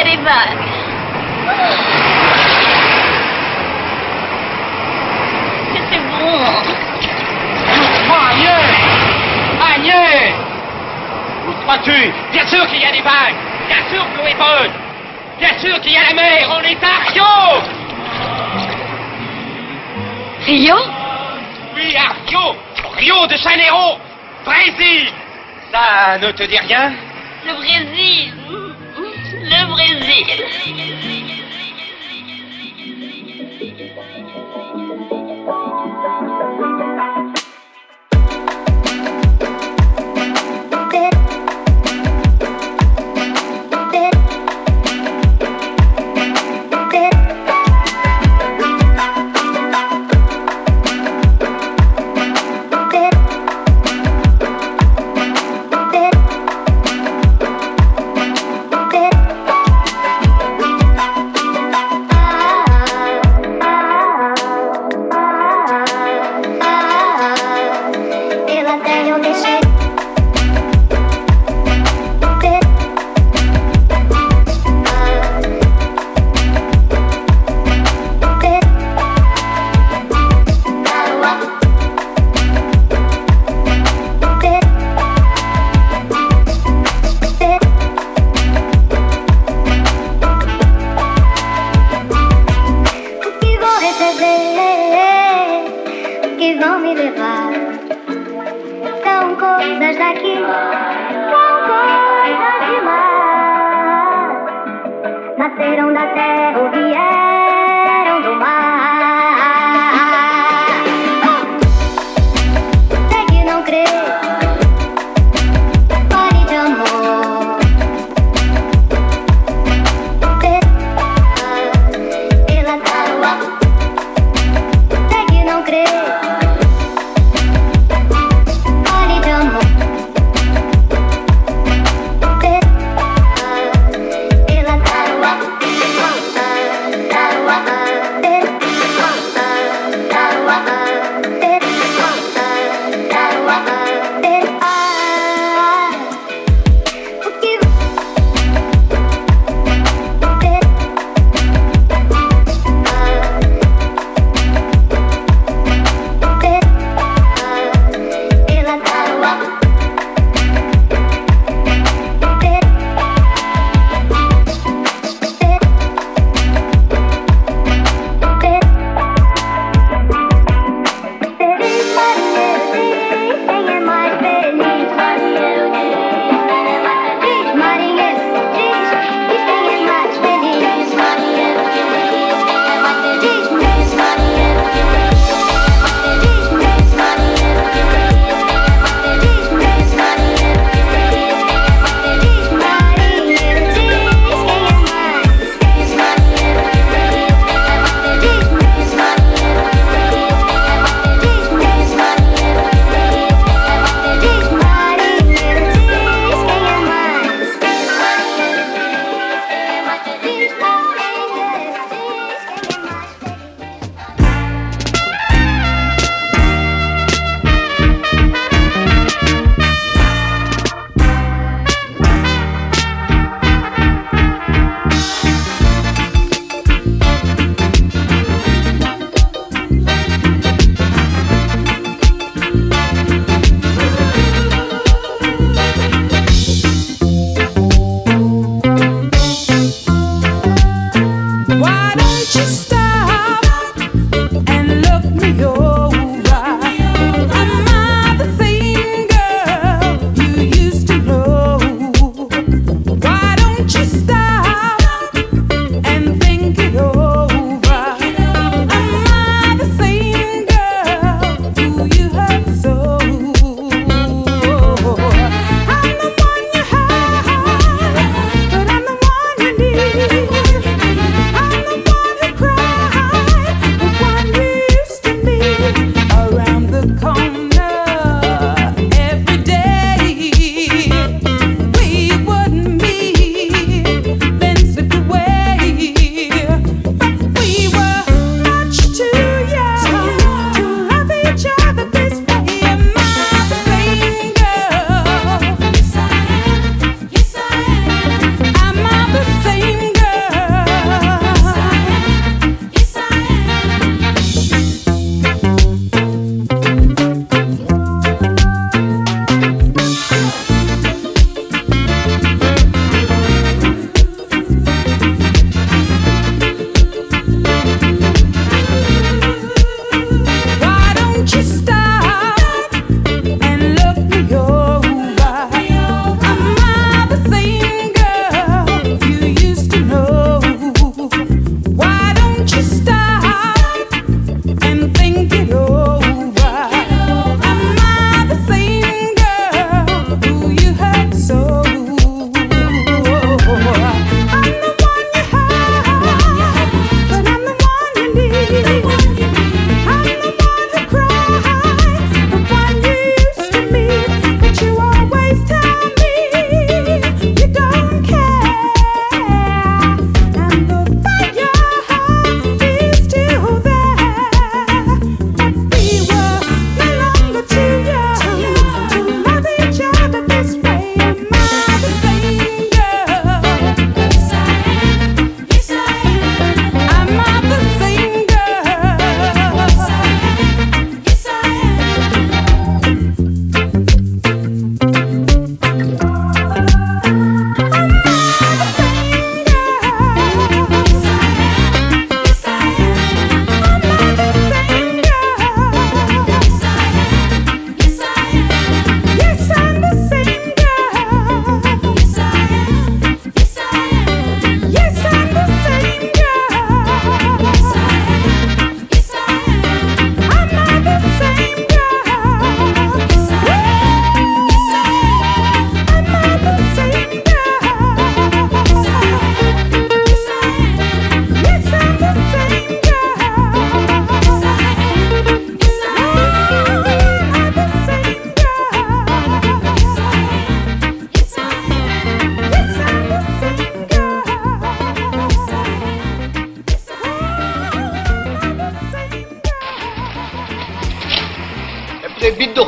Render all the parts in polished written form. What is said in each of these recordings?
a des vagues. Mais c'est bon. Agnès! Où crois-tu? Bien sûr qu'il y a des vagues! Bien sûr que l'eau est bonne! Bien sûr qu'il y a la mer! On est à Rio! Rio? Oui, à Rio! Rio de Janeiro! Brésil! Ça ne te dit rien? Le Brésil. Le Brésil.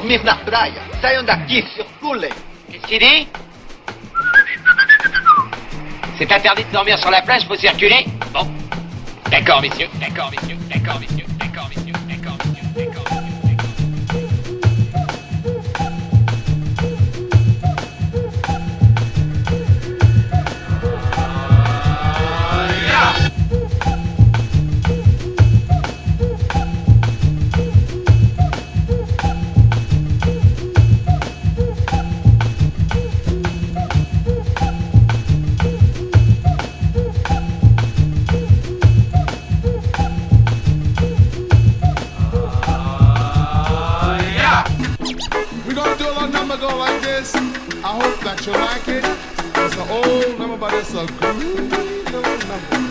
dormir na praia. Saiam daqui, circulem. Qu'est-ce qu'il dit? C'est interdit de dormir sur la plage, faut circuler? Bon. D'accord, messieurs. D'accord, messieurs. D'accord, messieurs. D'accord, messieurs. D'accord, messieurs. D'accord, messieurs. I hope that you like it. It's an old number, but it's a groovy little number.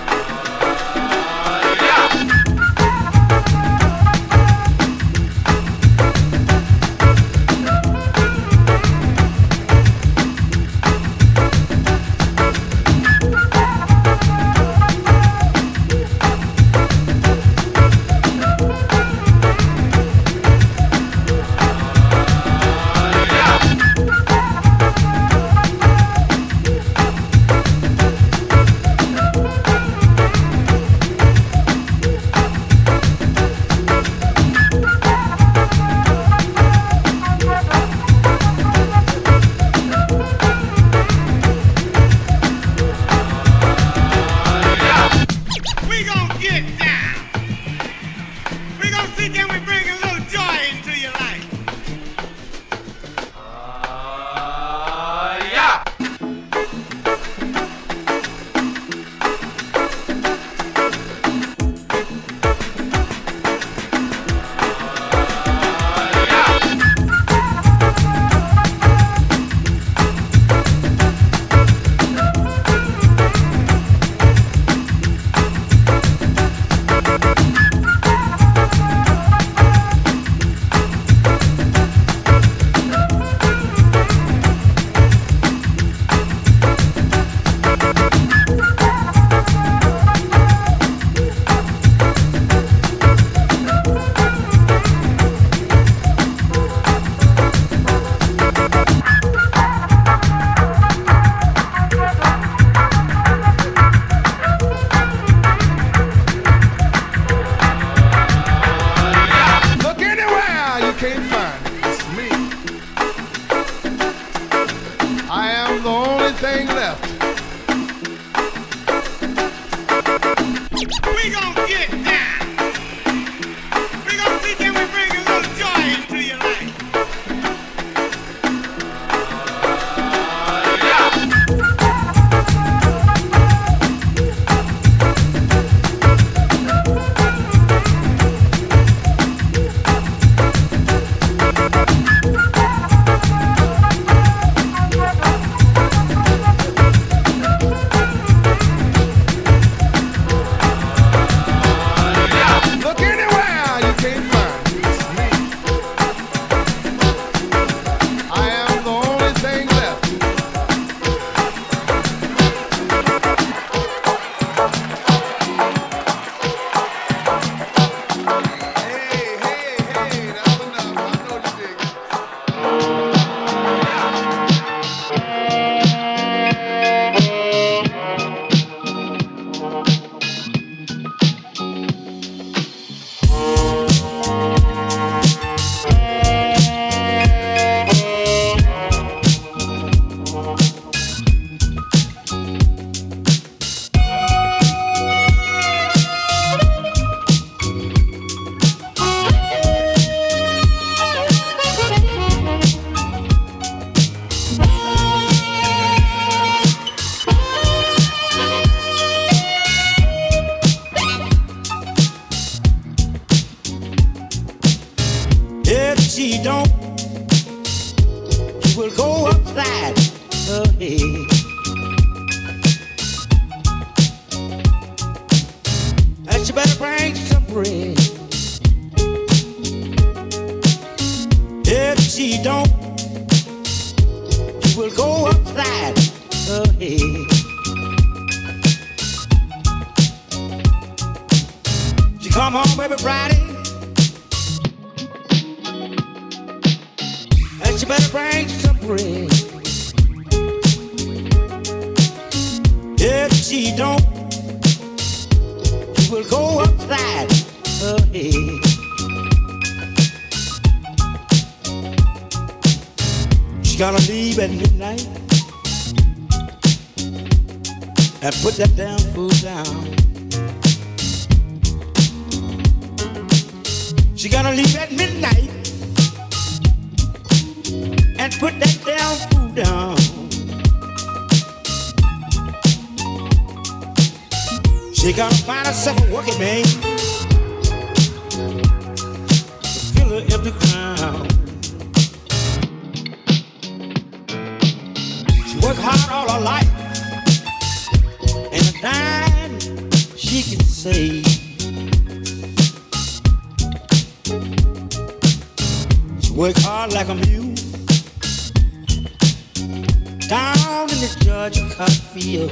she don't, she will go upside her head. And she better bring some bread. If she don't, she will go upside her head. She come home every Friday she don't, she will go upside her head. She gotta leave at midnight and put that damn food down. She gotta leave at midnight and put that damn food down. She gotta find herself a working man to fill her empty crown. She worked hard all her life, and a dime she can save. She worked hard like a mule down in the Georgia cotton field.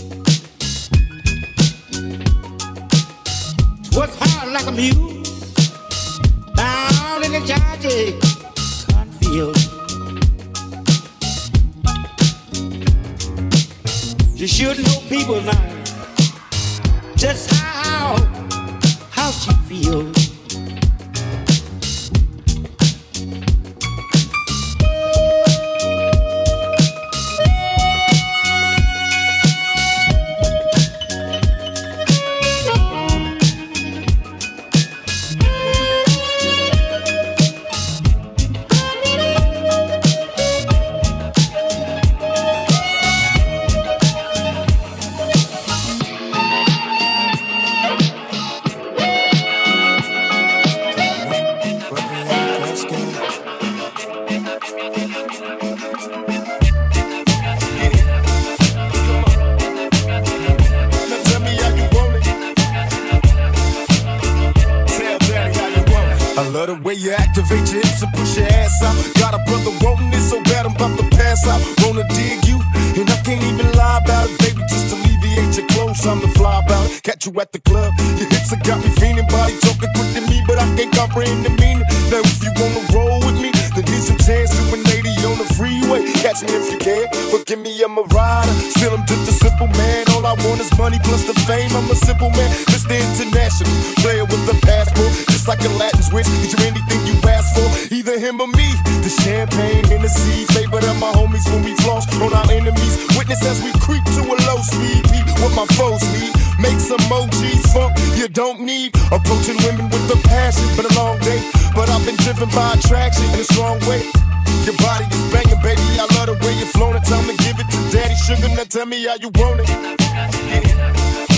Work hard like a mule down in the Georgia cotton field. You should know people now just how she feels. Activate your hips and push your ass out. Got a brother wanting it so bad I'm about to pass out. Wanna dig you, and I can't even lie about it, baby. Just alleviate your clothes, I'm the fly about it. Catch you at the club, your hips have got me feeling. Body talking quick to me, but I can't comprehend the meaning. Now if you wanna roll with me, then here's your chance to an 80 on the freeway. Catch me if you can, forgive me, I'm a rider. Still I'm just a simple man. All I want is money plus the fame. I'm a simple man, Mr. International, player with a passport, just like a Latin switch. Get you anything you ask for, either him or me. The champagne, Hennessy, favorite of my homies when we floss on our enemies. Witness as we creep to a low speed. Beat what my foes need. Make some emojis, funk you don't need. Approaching women with a passion, been a long day, but I've been driven by attraction in a strong way. Your body is banging, baby, I love the way you're flowing. Time to give it to Daddy Sugar, now tell me how you want it. Yeah.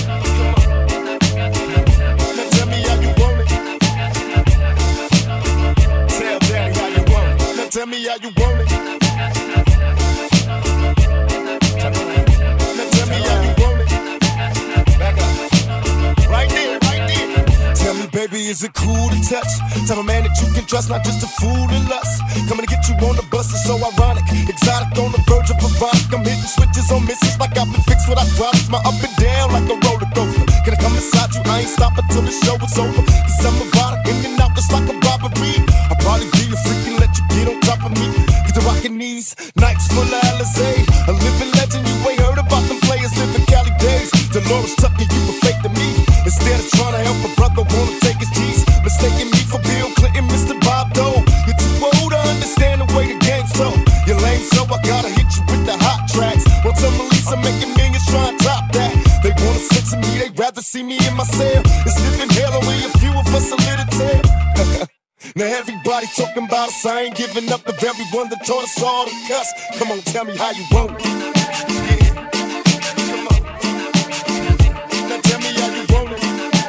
Now tell me how you want it. Tell Daddy how you want it. Now tell me how you want it. Now tell me how you want it. Back up. Right there, right there. Tell me, baby, is it cool to touch? Tell a man that you can trust, not just a fool to lust. Coming to get you on the bus is so ironic. Exotic on the verge of erotic. I'm hitting switches on misses like I've been fixed with hydraulics. My up and down like a roller coaster. Can I come inside you? I ain't stopping till the show is over. Cause I'm erotic, in and out just like a robbery. I'll probably be a freak and let you get on top of me. Get the rockin' knees, nights full of Alizé. A living legend, you ain't heard about them players living Cali days. Dolores Tucker, you were fake to me. Instead of trying to help a brother, wanna take his G's. Mistaking me for Bill Clinton, Mr. Bob Dole. You're too old to understand the way the game's so. You're lame, so I gotta hit you with the hot tracks. Once I'm Lisa making millions, try and top that. They wanna censor me, they'd rather see me in my cell. It's living hell, only a few of us a little tell. Now everybody talking about us, I ain't giving up the very one that taught us all to cuss. Come on, tell me how you want it. Yeah. Come on. Now tell me how you want it.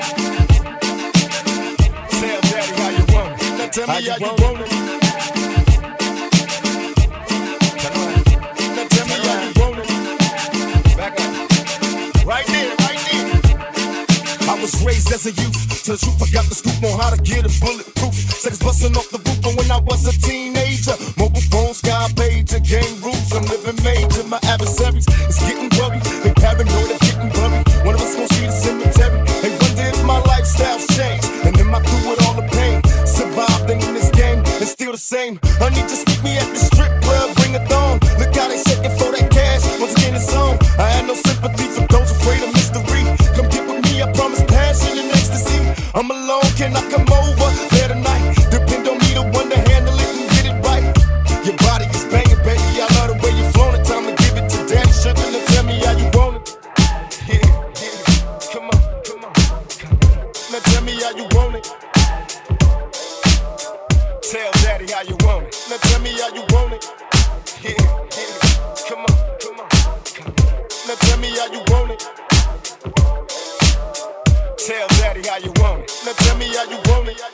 Tell Daddy how you want it. Now tell me how you want it. Now tell me how you want it. Back up. Right there, right there. I was raised as a youth. Tell the truth, I got the scoop on how to get it bulletproof. Seconds busting off the roof, and when I was a teenager, mobile phone, sky pager, game rules, I'm living major. My adversaries is getting worried, they paranoid of getting buried. One of us gon' see the cemetery. They wonder if my lifestyle's changed, and am I through with all the pain? Survived in this game, and still the same. Honey, just meet me at the strip club, bring a thong. Look how they shaking for that cash, once again it's on. I had no sympathy for those afraid of can I come over there tonight? Depend on me, the one to handle it and get it right. Your body is banging, baby. I love the way you flown it. Time to give it to daddy. Sugar, now tell me how you want it. Yeah, yeah. Come on, come on. Now tell me how you want it. Tell daddy how you want it. Now tell me how you want it. Yeah, yeah. Come on, come on. Now tell me how you want it. Tell daddy how you want it. Now tell me how you want it.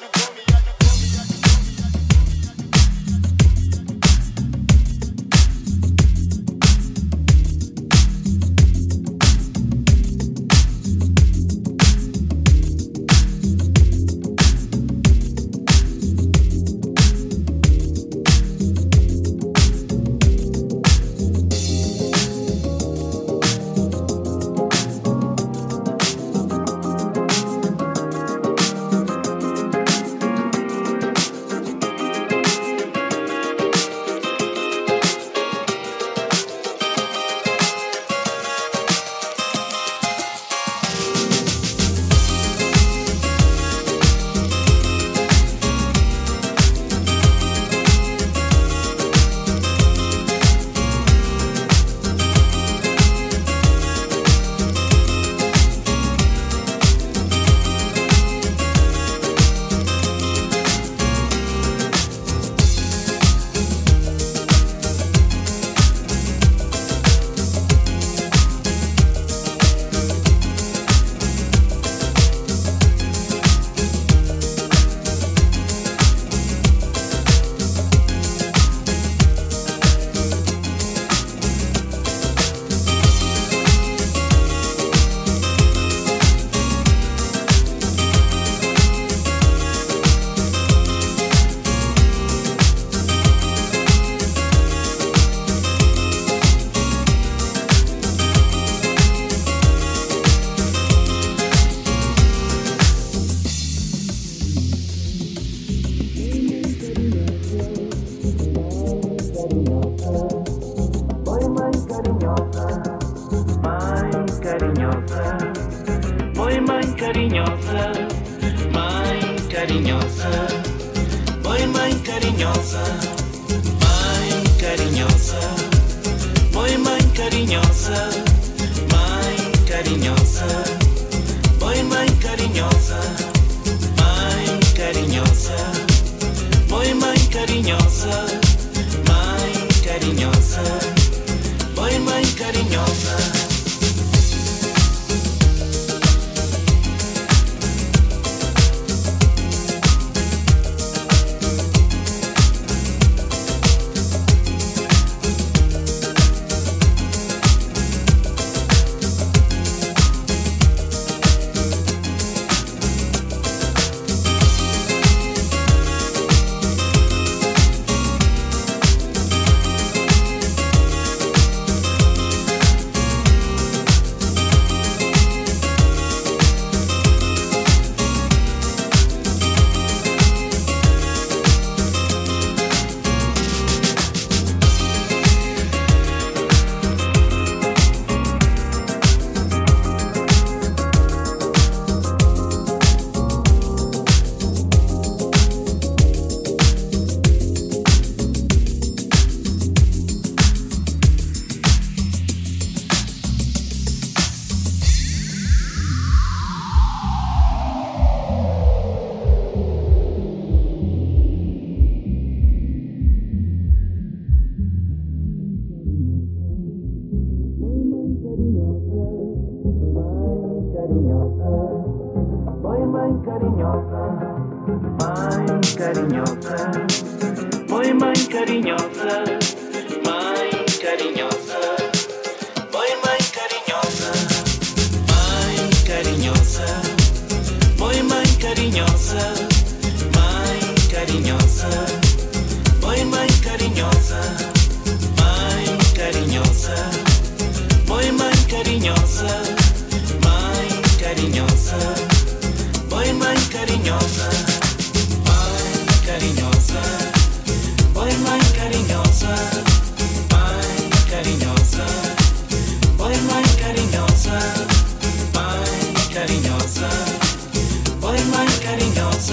cariñosa, voy más cariñosa.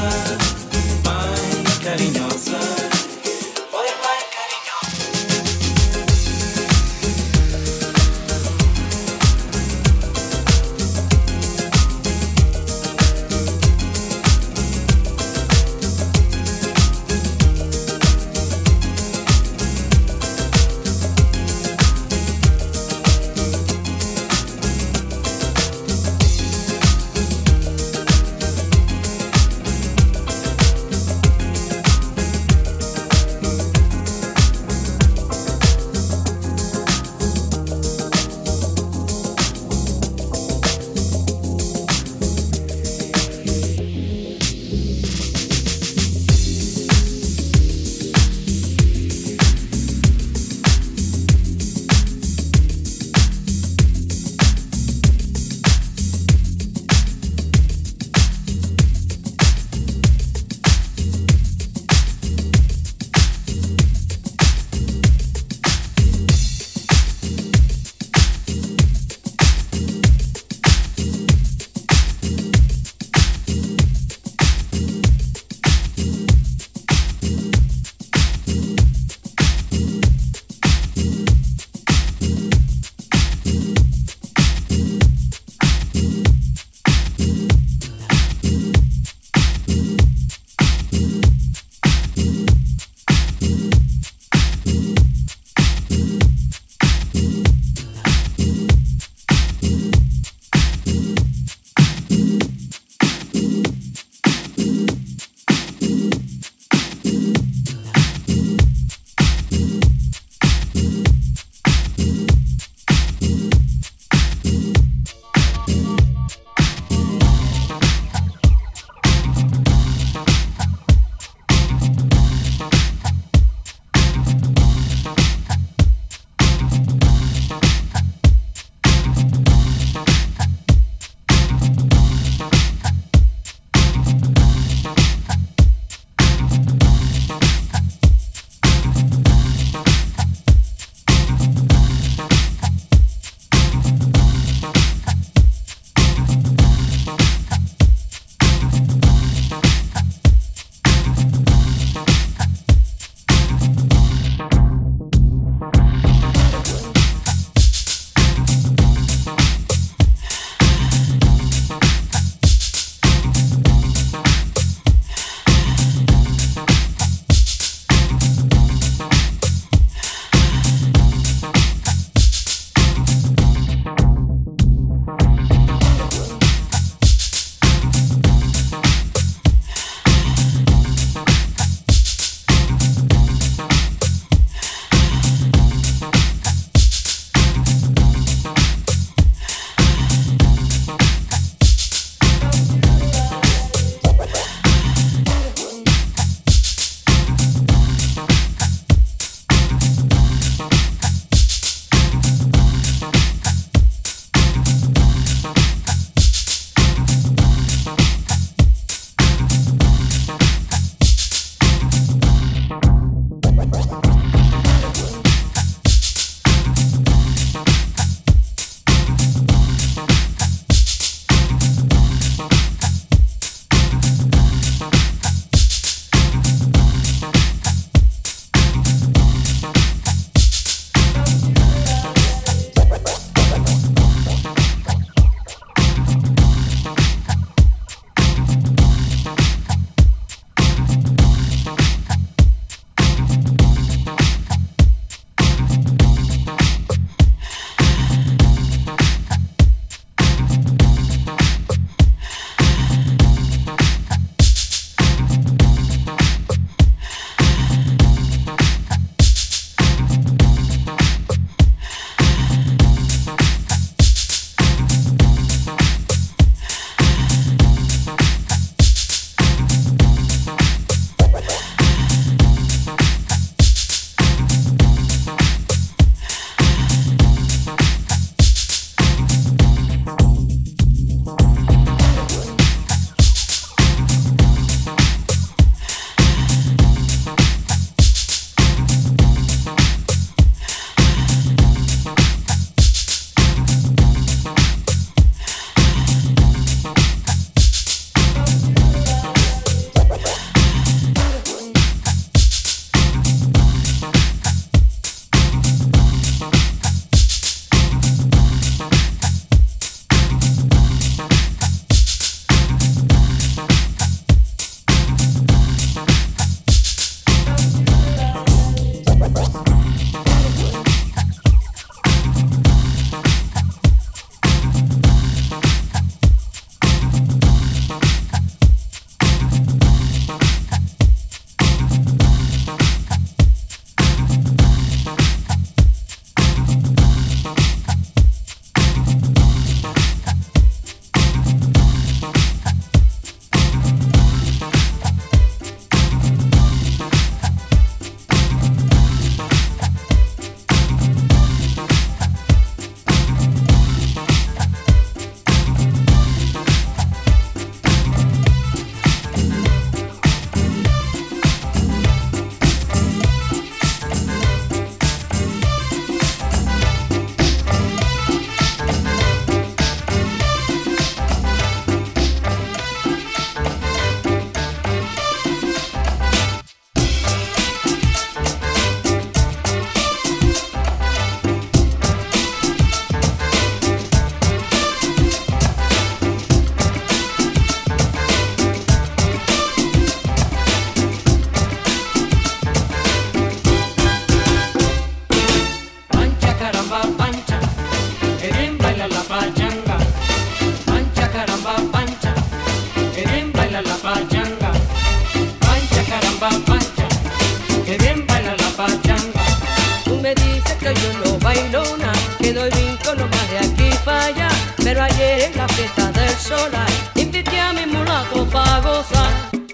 bailona, que doy brinco nomás de aquí para allá. Pero ayer en la fiesta del solar invité a mi mulato pa' gozar.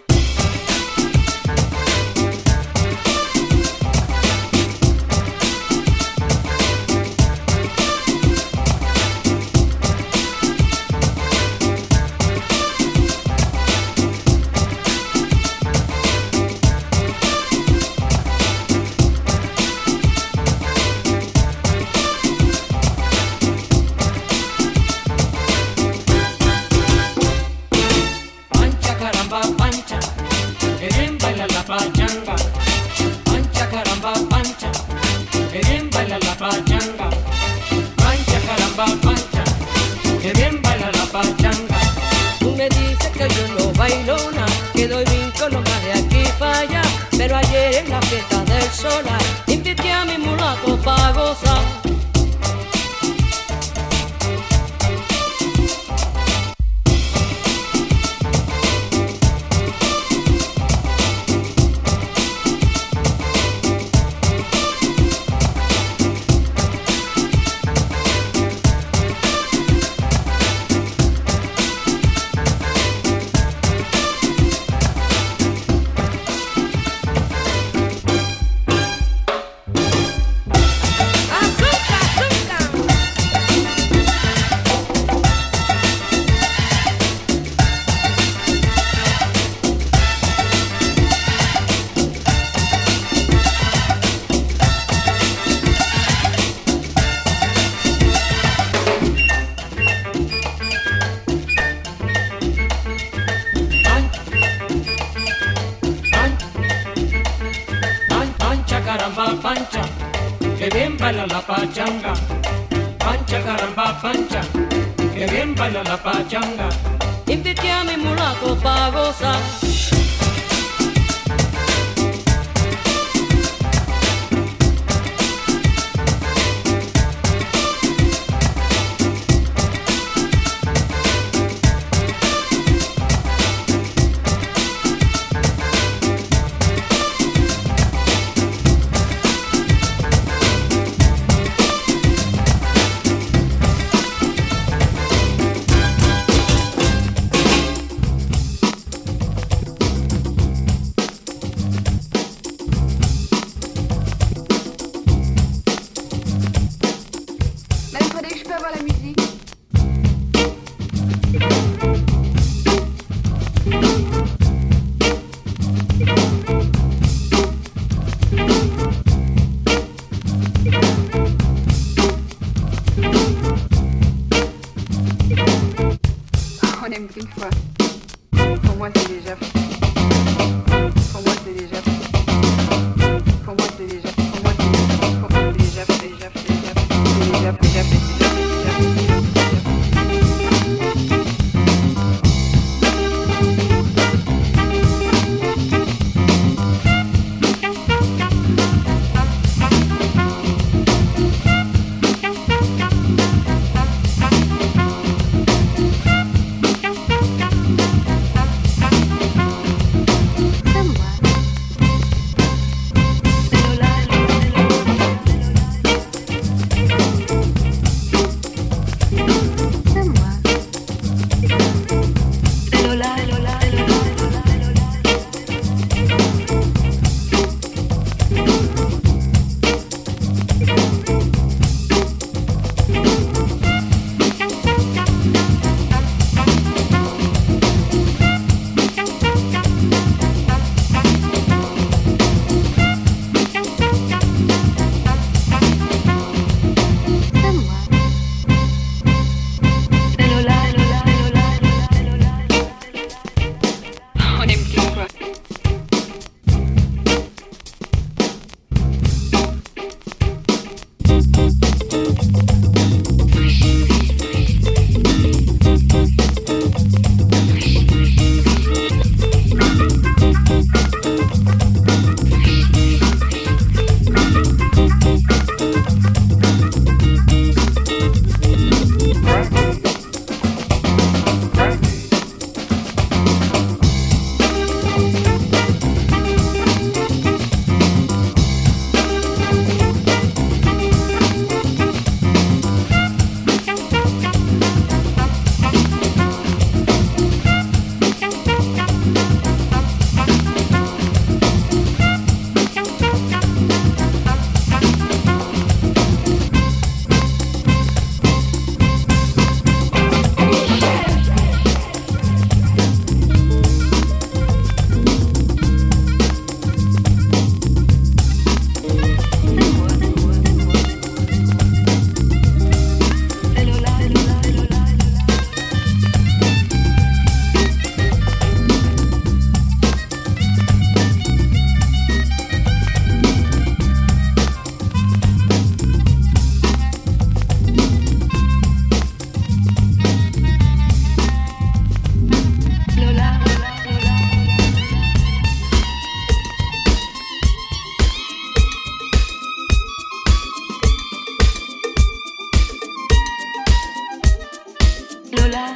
Pero ayer en la fiesta del solar invité a mi mulato pa' gozar. Pancha, que bien baila la pachanga. Pancha, caramba, pancha, que bien baila la pachanga. Invité a mi mulato pa' gozar. On aime qu'une fois. Pour moi, c'est déjà fait. Pour moi, c'est déjà fait. Pour moi, c'est déjà fait. Pour moi, c'est déjà fait. Pour moi, c'est déjà fait. Déjà fait. Déjà fait. Déjà fait. Déjà fait. Thank you.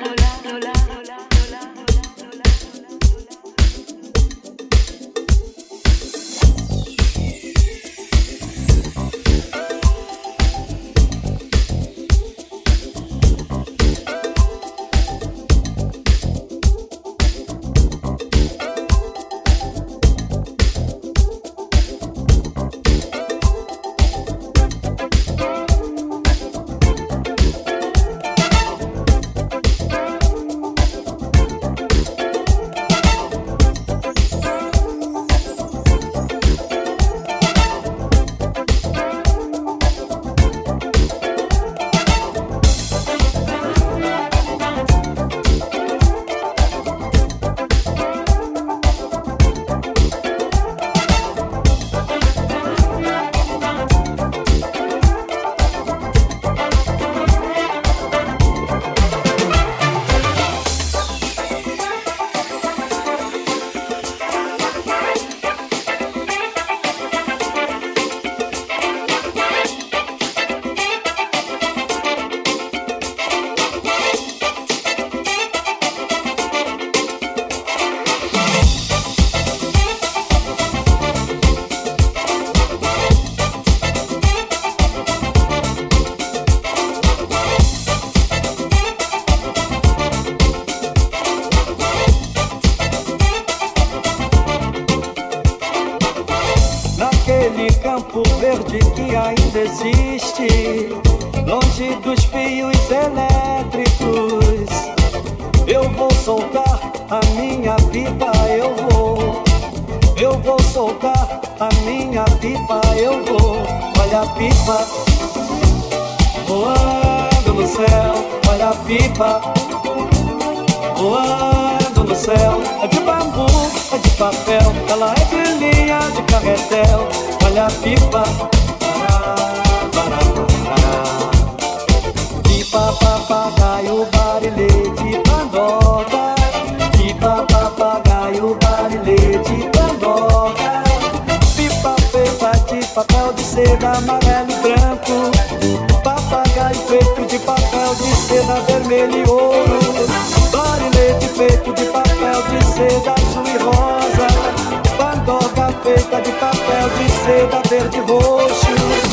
campo verde que ainda existe, longe dos fios elétricos. Eu vou soltar a minha pipa, eu vou soltar a minha pipa, eu vou. Olha a pipa voando no céu, olha a pipa voando no céu. É de bambu, é de papel, ela é de linha de carretel. Olha a pipa, pipa, papagaio, barilete, pandoca. Pipa, papagaio, barilete, pandoca. Pipa feita de papel de seda amarelo e branco. Papagaio feito de papel de seda vermelho e ouro. Barilete feito de papel de seda azul e rosa. Pandoca feita de papel de seda verde e roxo.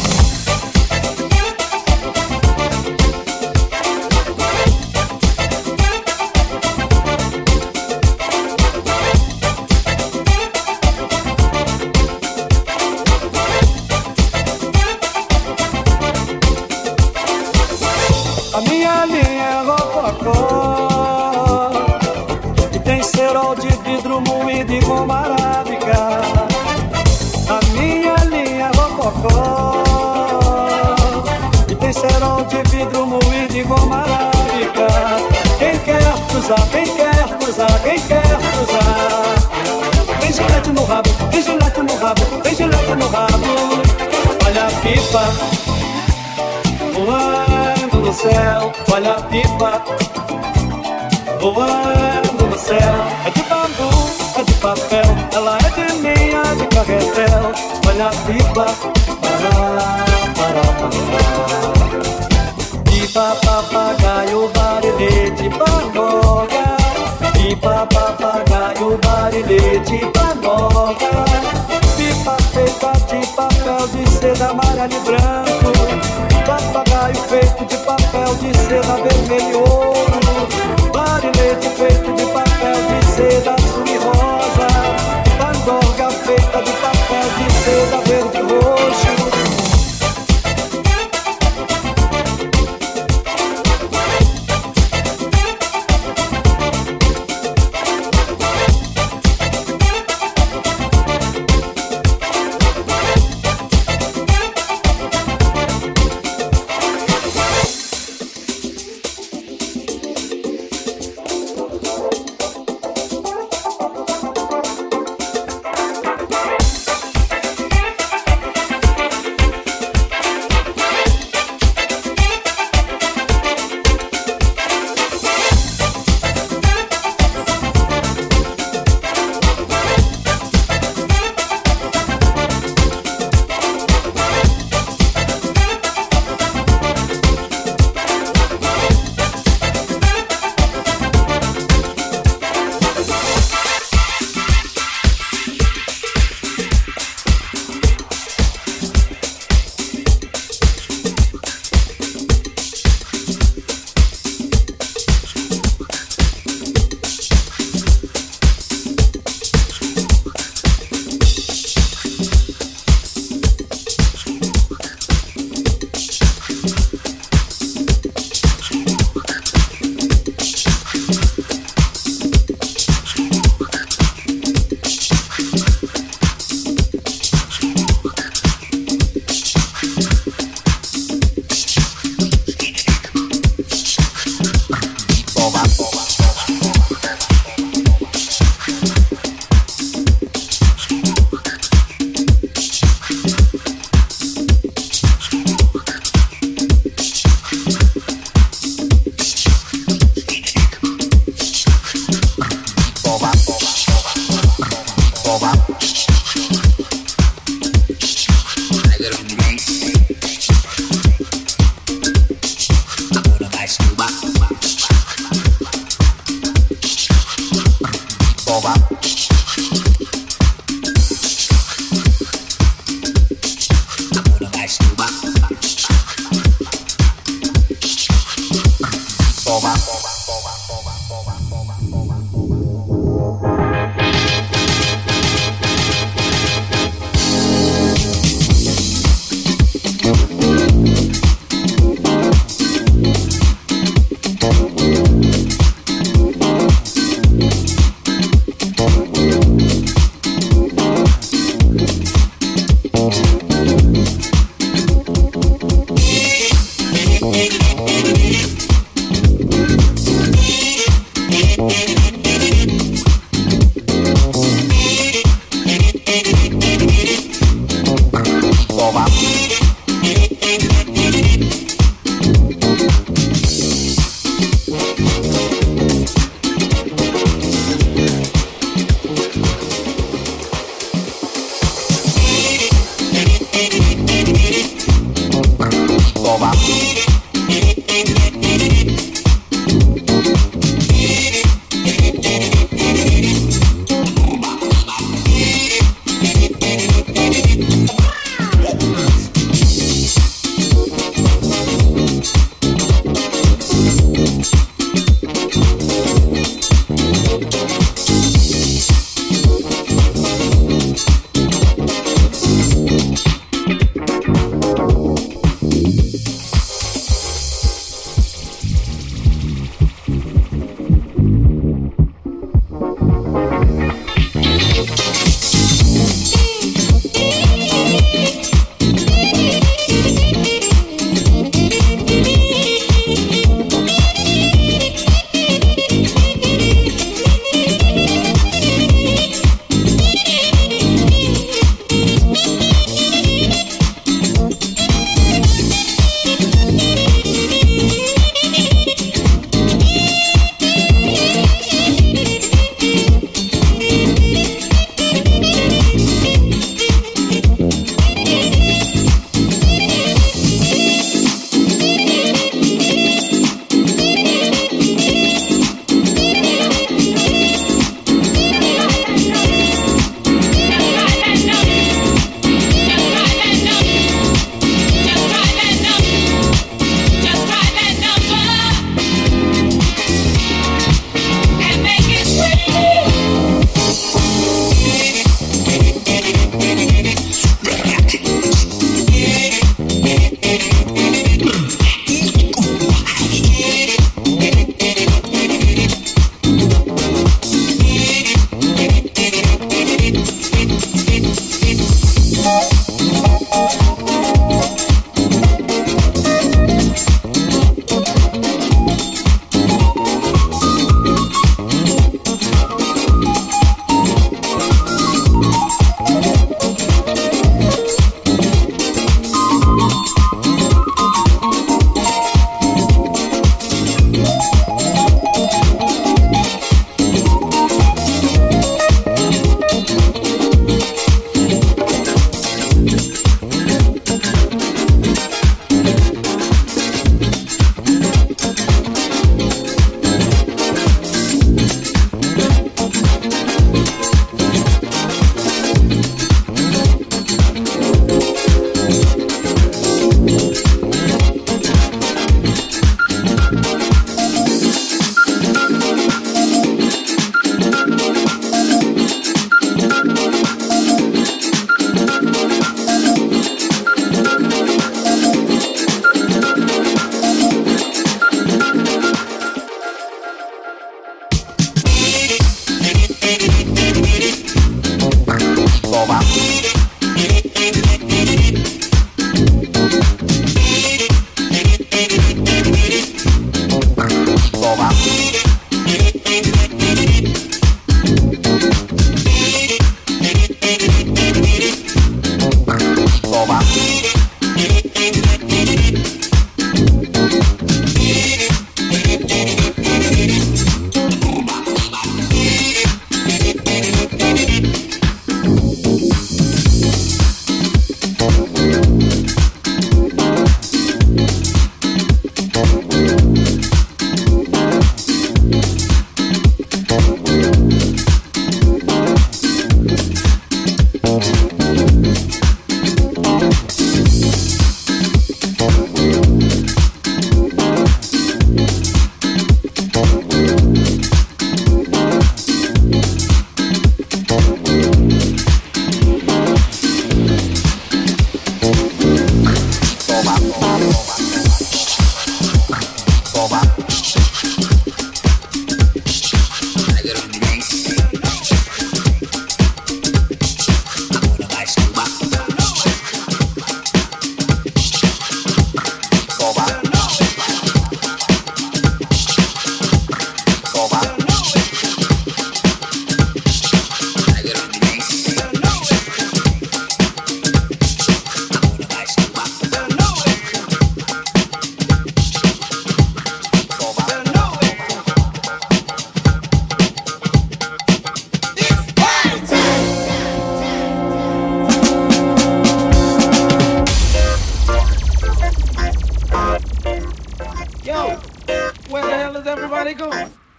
A minha linha é rococó e tem cerol de vidro moído e goma arábica. A minha linha é rococó e tem cerol de vidro moído e goma arábica. Quem quer cruzar, quem quer cruzar, quem quer cruzar. Tem gilete no rabo, tem gilete no rabo, tem gilete no rabo. Olha a pipa voando no céu, olha a pipa voando no céu. É de bambu, é de papel, ela é de linha de carretel. Olha a pipa, pipa, papagaio, barilete, pandoca. Pipa, papagaio, barilete, pandoca. Pipa feita de papel de seda amarelo e branco. Papagaio feito de papel de seda vermelho e ouro. Barilete feito de papel de seda azul e rosa. Pandorga feita de papel de seda verde e roxo.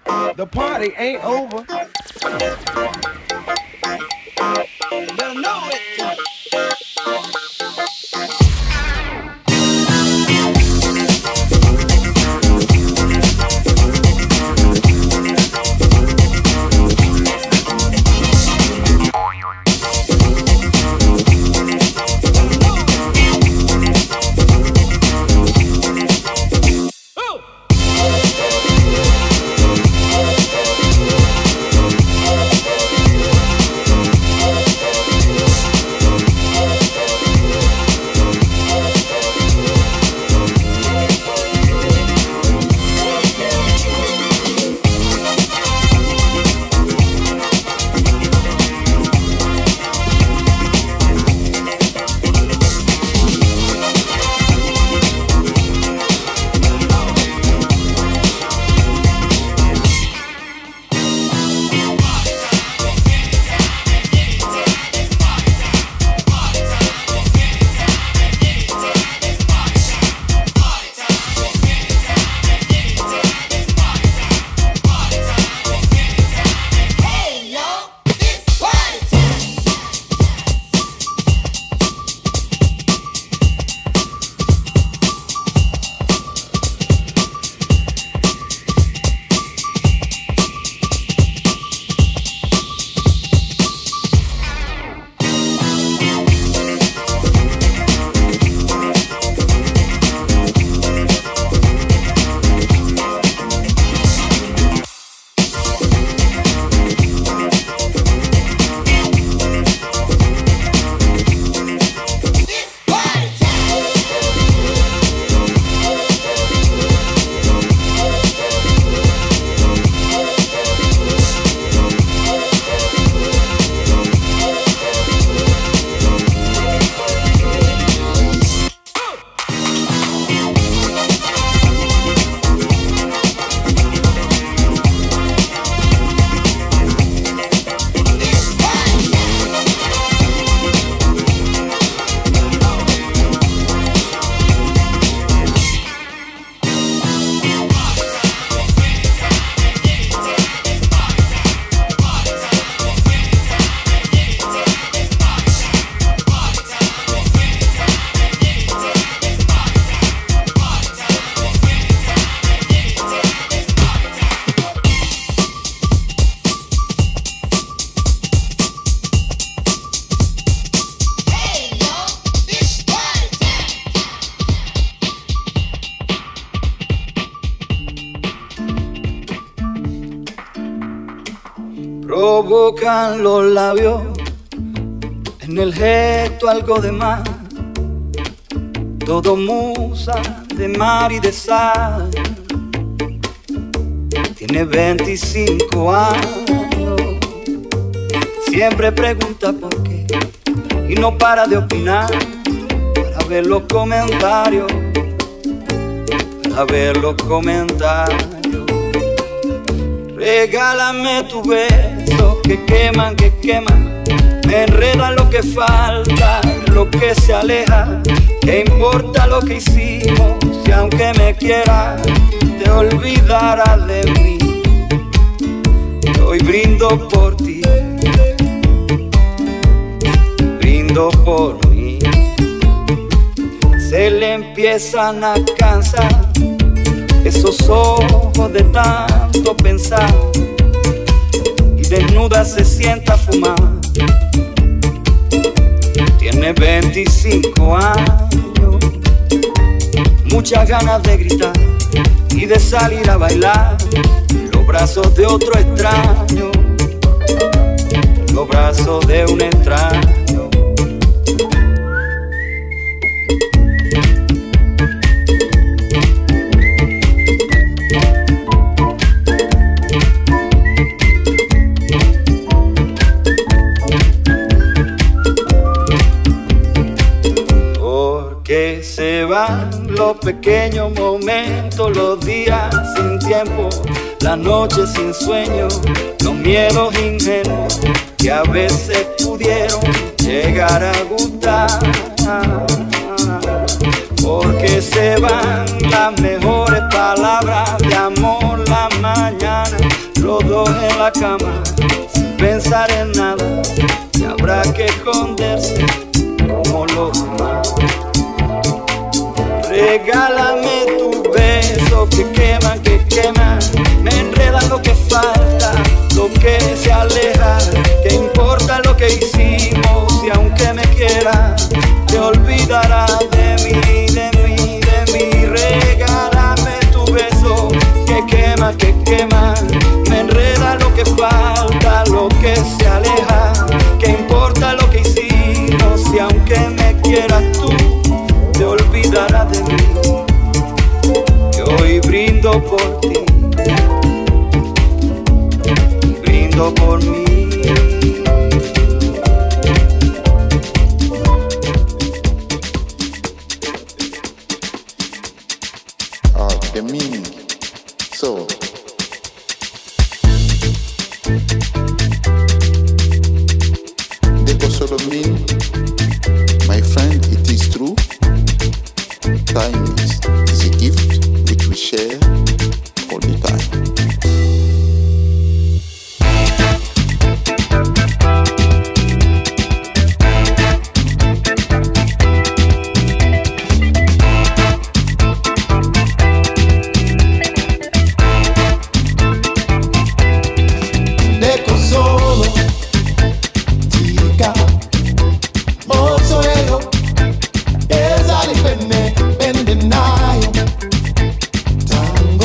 The party ain't over. Better know it. Provocan los labios en el gesto algo de más, todo musa de mar y de sal. Tiene 25 años, siempre pregunta por qué y no para de opinar, para ver los comentarios, para ver los comentarios. Regálame tu beso que queman, me enreda lo que falta, lo que se aleja. ¿Qué importa lo que hicimos si aunque me quieras te olvidarás de mí? Hoy brindo por ti, brindo por mí. Se le empiezan a cansar esos ojos de tanto pensar y desnuda se sienta a fumar. Tiene 25 años, muchas ganas de gritar y de salir a bailar. Los brazos de otro extraño, los brazos de un extraño. Que se van los pequeños momentos, los días sin tiempo, las noches sin sueño, los miedos ingenuos que a veces pudieron llegar a gustar. Porque se van las mejores palabras de amor, la mañana, los dos en la cama, sin pensar en nada, y habrá que esconderse como los demás. Regálame tu beso que quema, me enreda lo que falta, lo que se aleja, que importa lo que hicimos y aunque me quieras, te olvidarás de mí, de mí, de mí. Regálame tu beso que quema, me enreda lo que falta, lo que se aleja, que importa lo que hicimos y aunque me quieras tú, te olvidarás de mí. Que hoy brindo por ti, brindo por mí. The meaning. So, Deco solo mean, my friend, it is true. Time is a gift which we share all the time. Time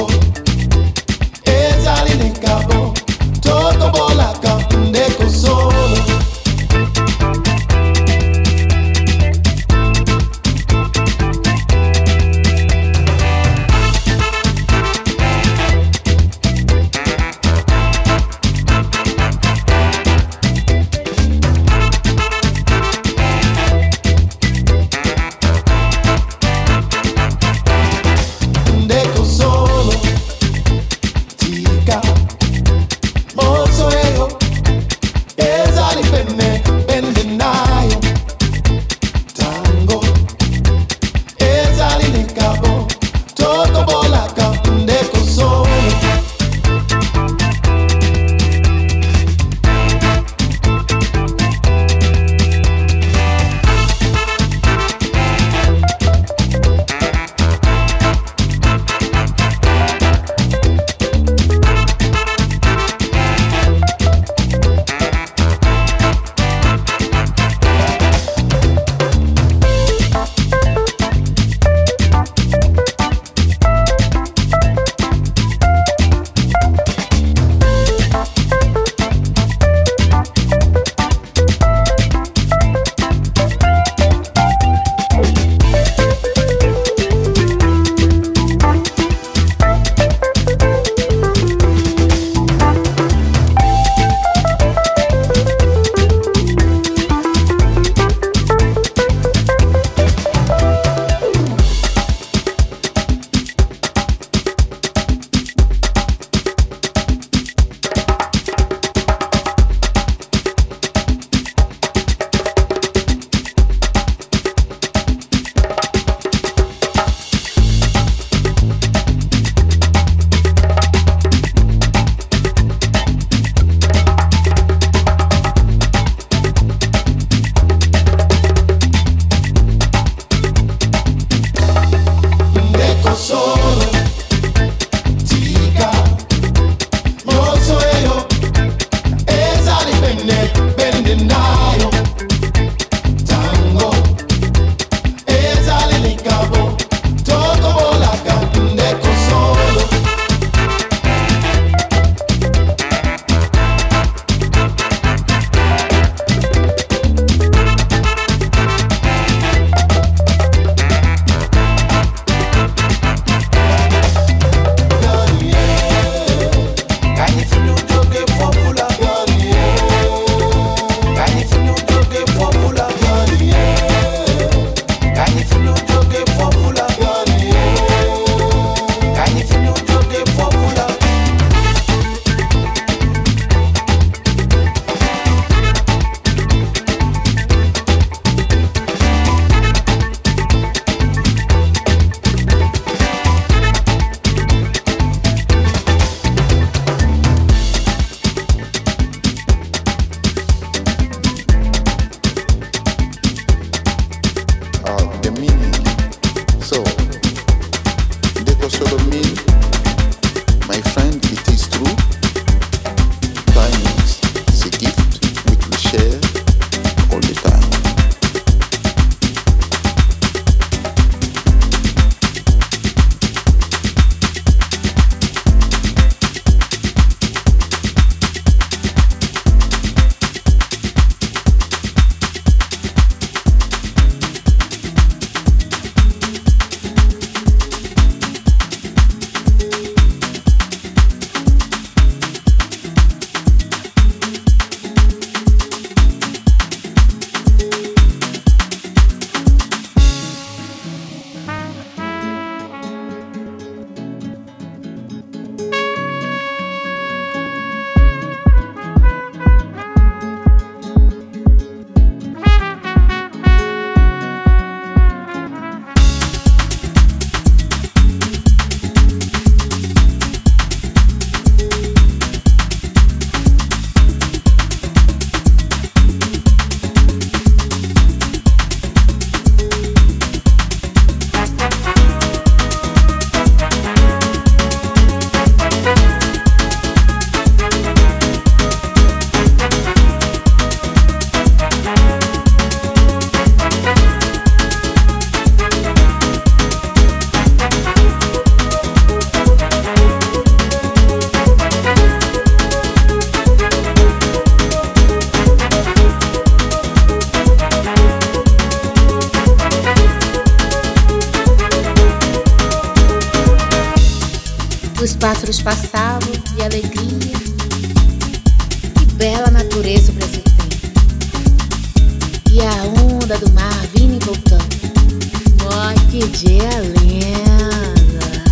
pássaros passavam de alegria. Que bela natureza o Brasil tem. E a onda do mar vindo e voltando. Oh, que dia lindo!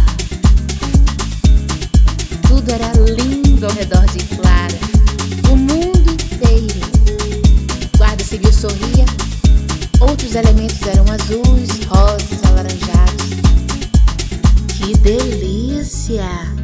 Tudo era lindo ao redor de Clara. O mundo inteiro. Guarda Civil sorria. Outros elementos eram azuis, rosas, alaranjados. Que delícia!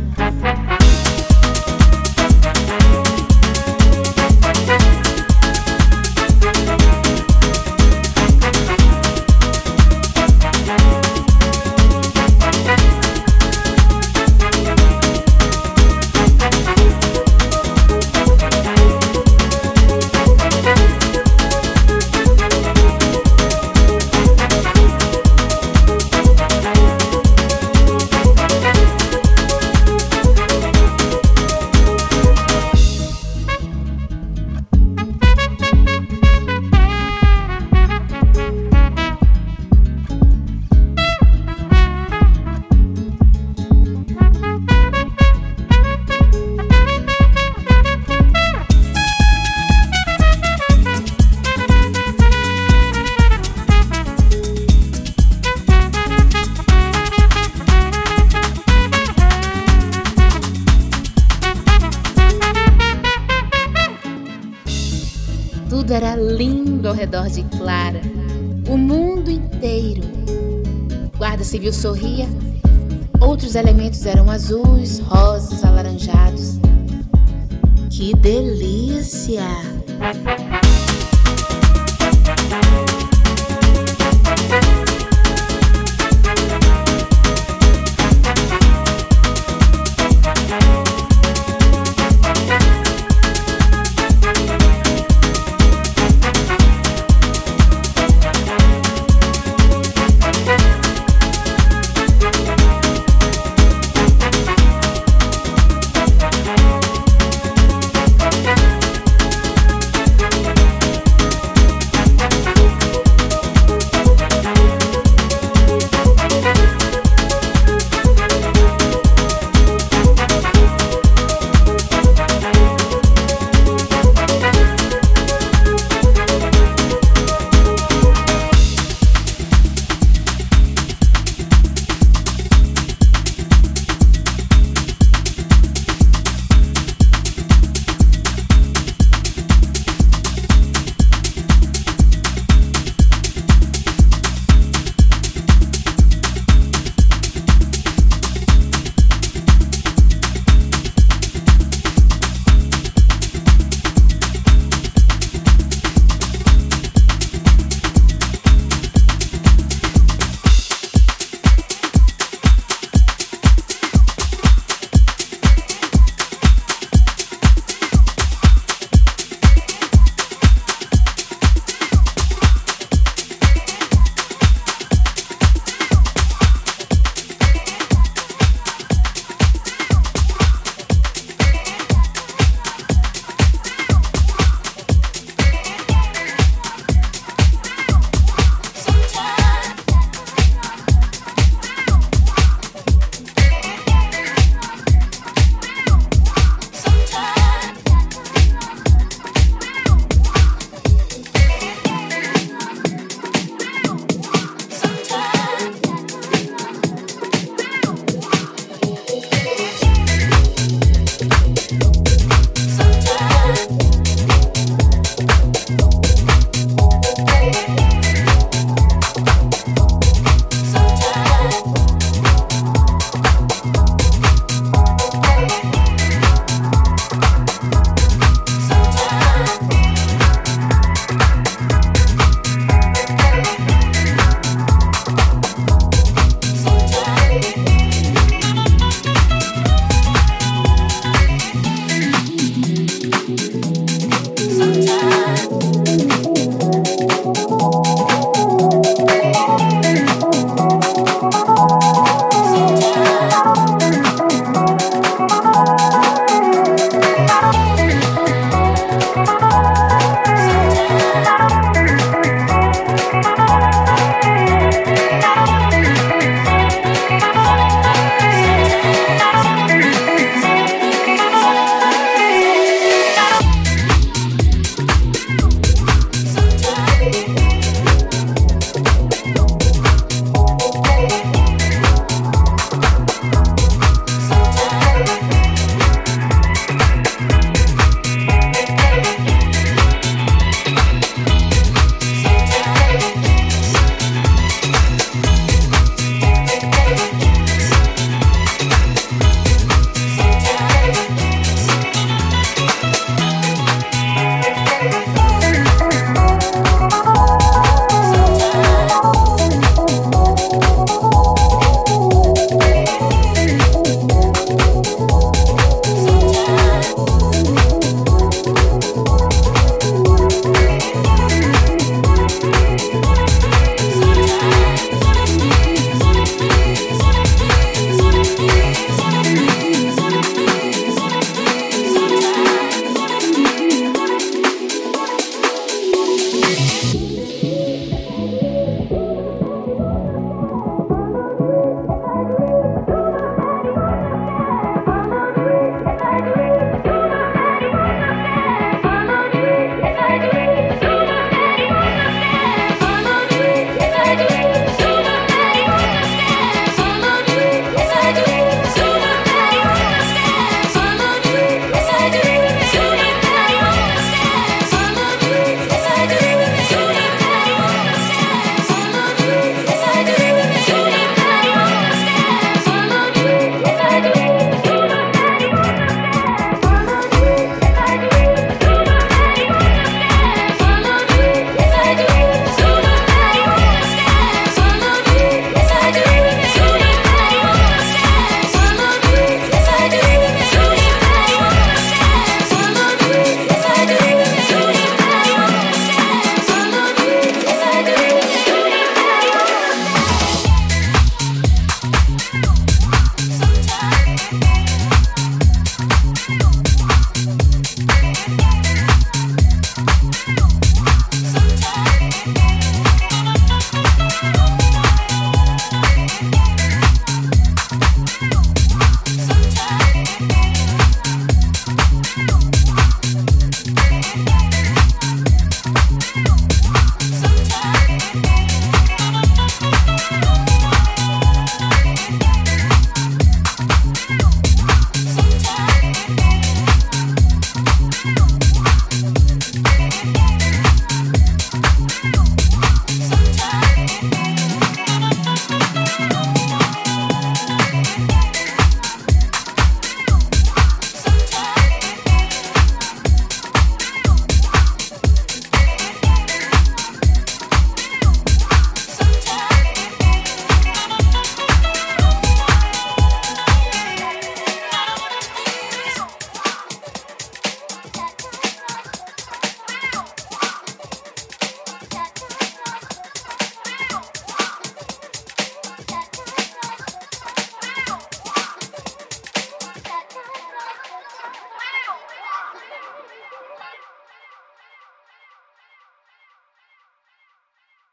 Tudo era lindo ao redor de Clara. O mundo inteiro. Guarda Civil sorria. Outros elementos eram azuis, rosas, alaranjados. Que delícia!